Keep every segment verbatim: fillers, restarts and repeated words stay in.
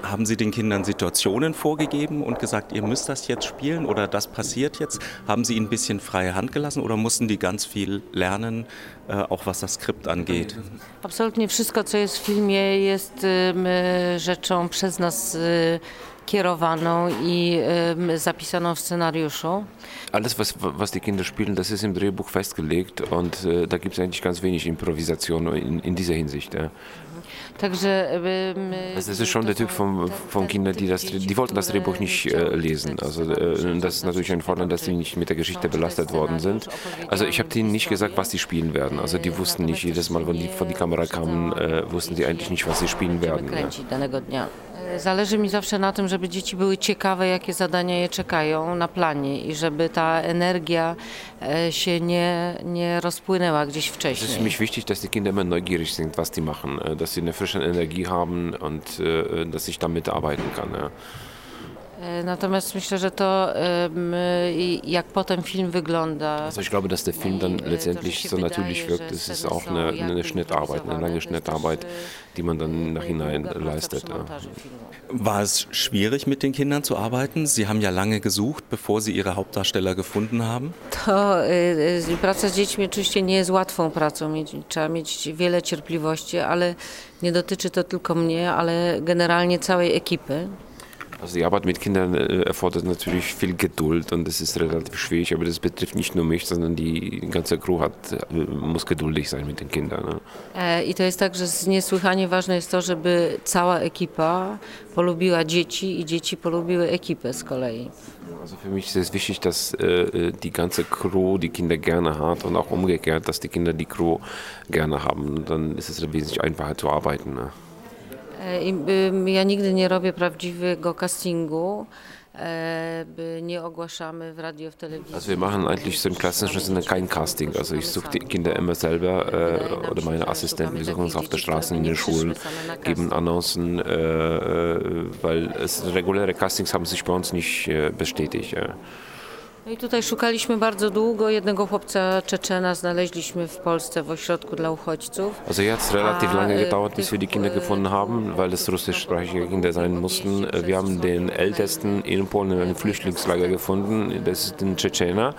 Haben Sie den Kindern Situationen vorgegeben und gesagt, ihr müsst das jetzt spielen oder das passiert jetzt? Haben Sie ihnen ein bisschen freie Hand gelassen oder mussten die ganz viel lernen, auch was das Skript angeht? Absolutnie wszystko, co jest w filmie, jest y, rzeczą przez nas y, kierowaną i y, zapisaną w scenariuszu. Alles, was, was die Kinder spielen, das ist im Drehbuch festgelegt und äh, da gibt es eigentlich ganz wenig Improvisation in, in dieser Hinsicht. Ja. Także, also das ist schon der Typ von, von Kindern, die das, die wollten das Drehbuch nicht äh, lesen. Also äh, das ist natürlich ein Vorteil, dass sie nicht mit der Geschichte belastet worden sind. Also ich habe denen nicht gesagt, was sie spielen werden. Also die wussten nicht jedes Mal, wenn die vor die Kamera kamen, äh, wussten sie eigentlich nicht, was sie spielen werden. Ja. Zależy mi zawsze na tym, żeby dzieci były ciekawe, jakie zadania je czekają na planie i żeby ta energia się nie, nie rozpłynęła gdzieś wcześniej. Es ist für mich wichtig, dass die Kinder immer neugierig sind, was die machen, dass sie eine frische Energie haben und dass ich damit arbeiten kann. Ja. Natomiast myślę, że to jak potem film wygląda. Also ich glaube, dass der Film dann letztendlich so natürlich wirkt. Es ist auch eine, eine Schnittarbeit, eine lange Schnittarbeit, die man dann im Nachhinein leistet. Ja. War es schwierig, mit den Kindern zu arbeiten? Sie haben ja lange gesucht, bevor Sie Ihre Hauptdarsteller gefunden haben. To y, praca z dziećmi oczywiście nie jest łatwą pracą. Trzeba mieć wiele cierpliwości, ale nie dotyczy to tylko mnie, ale generalnie całej ekipy. Also die Arbeit mit Kindern erfordert natürlich viel Geduld und das ist relativ schwierig, aber das betrifft nicht nur mich, sondern die ganze Crew hat, muss geduldig sein mit den Kindern. Ne? I to jest tak, że niesłychanie ważne jest to, żeby cała ekipa polubiła dzieci i dzieci polubiły ekipę z kolei. Also für mich ist es wichtig, dass äh, die ganze Crew die Kinder gerne hat und auch umgekehrt, dass die Kinder die Crew gerne haben. Dann ist es wesentlich einfacher zu arbeiten. Ne? Ja nigdy nie robię prawdziwego castingu, nie ogłaszamy w radio, w telewizji. Also wir machen eigentlich so im klassischen Sinne kein Casting. Also ich suche die Kinder immer selber äh, oder meine Assistenten, wir suchen uns auf der Straße, in den Schulen, geben Annoncen, äh, weil es, reguläre Castings haben sich bei uns nicht äh, bestätigt. Ja. No i tutaj szukaliśmy bardzo długo. Jednego chłopca Czeczena znaleźliśmy w Polsce w ośrodku dla uchodźców. Also jetzt hat es relativ lange gedauert, bis wir die Kinder gefunden haben, weil es russischsprachige Kinder sein mussten. Wir haben den ältesten in Polen in einem Flüchtlingslager gefunden, das ist ein Tschetschener.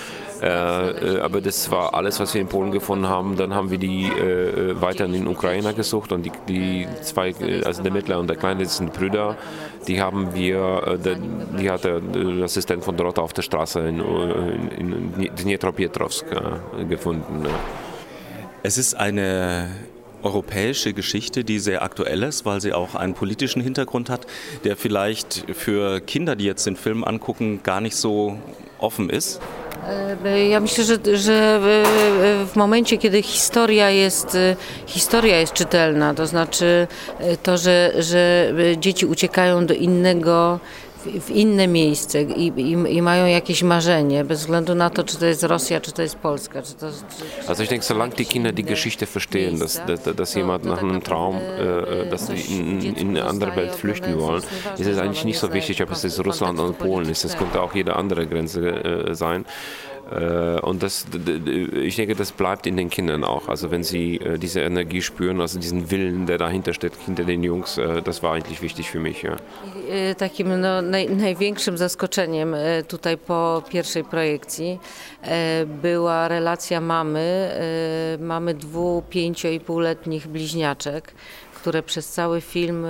Äh, aber das war alles, was wir in Polen gefunden haben. Dann haben wir die äh, weiter in den Ukrainer gesucht und die, die zwei, also der Mittlere und der Kleine, das sind Brüder, die haben wir, äh, der, die hat der, der Assistent von dort auf der Straße in, in, in Dniepropetrovsk äh, gefunden. Es ist eine europäische Geschichte, die sehr aktuell ist, weil sie auch einen politischen Hintergrund hat, der vielleicht für Kinder, die jetzt den Film angucken, gar nicht so offen ist. Ja myślę, że, że w momencie, kiedy historia jest, historia jest czytelna, to znaczy to, że, że dzieci uciekają do innego, w inne miejsce i, i, i mają jakieś marzenie, bez względu na to, czy to jest Rosja, czy to jest Polska. Czy to, czy, also ich denke, solange die Kinder die Geschichte verstehen, dass, dass, dass jemand nach einem Traum, äh, dass sie in, in eine andere Welt flüchten wollen, ist es eigentlich nicht so wichtig, ob es jetzt Russland oder Polen ist. Es könnte auch jede andere Grenze äh, sein. Und das, ich denke, das bleibt in den Kindern auch. Also wenn sie diese Energie spüren, also diesen Willen, der dahinter steht, hinter den Jungs, das war eigentlich wichtig für mich. Ja. Takim no, naj, największym zaskoczeniem tutaj po pierwszej projekcji była relacja mamy, mamy dwu, pięcio i półletnich bliźniaczek, które przez cały film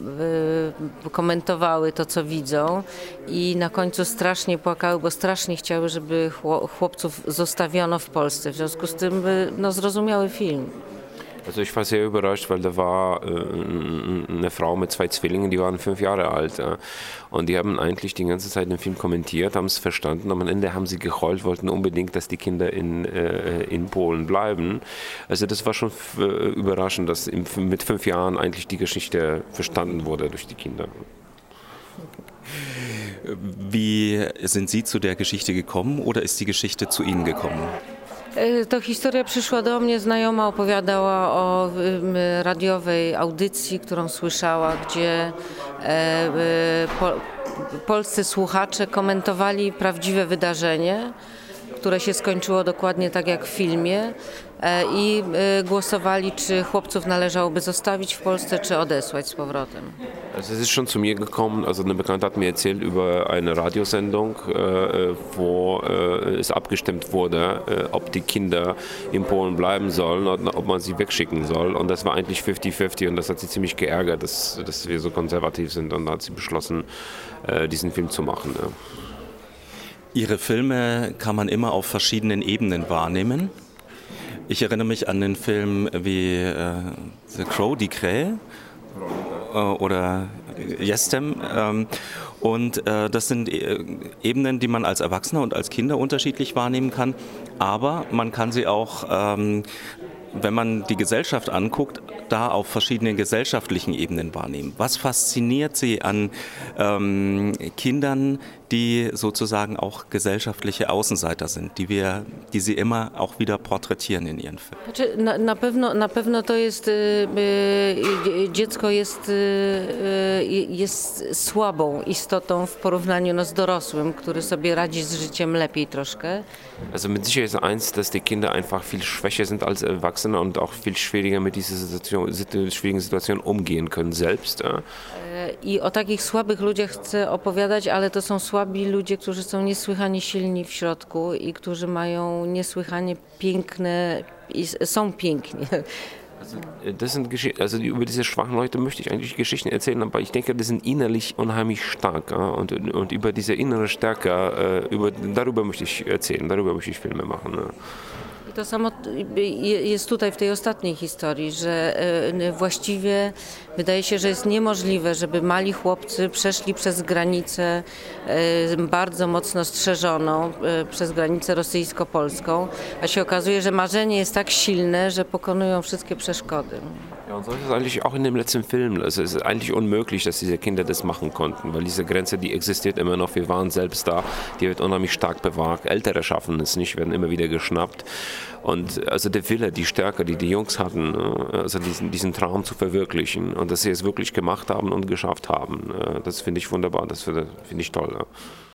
komentowały to, co widzą i na końcu strasznie płakały, bo strasznie chciały, żeby chłopców zostawiono w Polsce. W związku z tym no, zrozumiały film. Also ich war sehr überrascht, weil da war äh, eine Frau mit zwei Zwillingen, die waren fünf Jahre alt. Äh, und die haben eigentlich die ganze Zeit den Film kommentiert, haben es verstanden. Und am Ende haben sie geheult, wollten unbedingt, dass die Kinder in, äh, in Polen bleiben. Also das war schon äh, überraschend, dass im, mit fünf Jahren eigentlich die Geschichte verstanden wurde durch die Kinder. Wie sind Sie zu der Geschichte gekommen oder ist die Geschichte zu Ihnen gekommen? To historia przyszła do mnie, znajoma opowiadała o radiowej audycji, którą słyszała, gdzie po, polscy słuchacze komentowali prawdziwe wydarzenie, które się skończyło dokładnie tak jak w filmie i głosowali, czy chłopców należałoby zostawić w Polsce, czy odesłać z powrotem. Also es ist schon zu mir gekommen, also eine Bekannte hat mir erzählt über eine Radiosendung, äh, wo äh, es abgestimmt wurde, äh, ob die Kinder in Polen bleiben sollen oder ob man sie wegschicken soll. Und das war eigentlich fifty fifty und das hat sie ziemlich geärgert, dass, dass wir so konservativ sind. Und da hat sie beschlossen, äh, diesen Film zu machen. Ja. Ihre Filme kann man immer auf verschiedenen Ebenen wahrnehmen. Ich erinnere mich an den Film wie äh, The Crow, die Krähe. Oder Jestem. Und das sind Ebenen, die man als Erwachsener und als Kinder unterschiedlich wahrnehmen kann. Aber man kann sie auch, wenn man die Gesellschaft anguckt, da auf verschiedenen gesellschaftlichen Ebenen wahrnehmen. Was fasziniert Sie an ähm, Kindern, die sozusagen auch gesellschaftliche Außenseiter sind, die wir, die Sie immer auch wieder porträtieren in Ihren Filmen? Znaczy, na, na, pewno, na pewno to jest, y, y, dziecko jest, y, jest słabą istotą w porównaniu no, z dorosłym, który sobie radzi z życiem lepiej troszkę. Also mit Sicherheit ist eins, dass die Kinder einfach viel schwächer sind als Erwachsene und auch viel schwieriger mit dieser Situation, schwierigen Situation umgehen können selbst. Ja. I o takich słabych ludziach chcę opowiadać, ale to są słabi ludzie, którzy są niesłychanie silni w środku i którzy mają niesłychanie piękne, i są piękni. Also, das sind Geschichten, also über diese schwachen Leute möchte ich eigentlich Geschichten erzählen, aber ich denke, die sind innerlich unheimlich stark. Ja? Und, und über diese innere Stärke, über, darüber möchte ich erzählen, darüber möchte ich Filme machen. Ja. I to samo jest tutaj w tej ostatniej historii, że właściwie wydaje się, że jest niemożliwe, żeby mali chłopcy przeszli przez granicę bardzo mocno strzeżoną, przez granicę rosyjsko-polską, a się okazuje, że marzenie jest tak silne, że pokonują wszystkie przeszkody. Ja, und so ist es eigentlich auch in dem letzten Film. Es ist eigentlich unmöglich, dass diese Kinder das machen konnten, weil diese Grenze, die existiert immer noch. Wir waren selbst da, die wird unheimlich stark bewacht. Ältere schaffen es nicht, werden immer wieder geschnappt. Und also der Wille, die Stärke, die die Jungs hatten, also diesen, diesen Traum zu verwirklichen und dass sie es wirklich gemacht haben und geschafft haben, das finde ich wunderbar, das finde ich toll.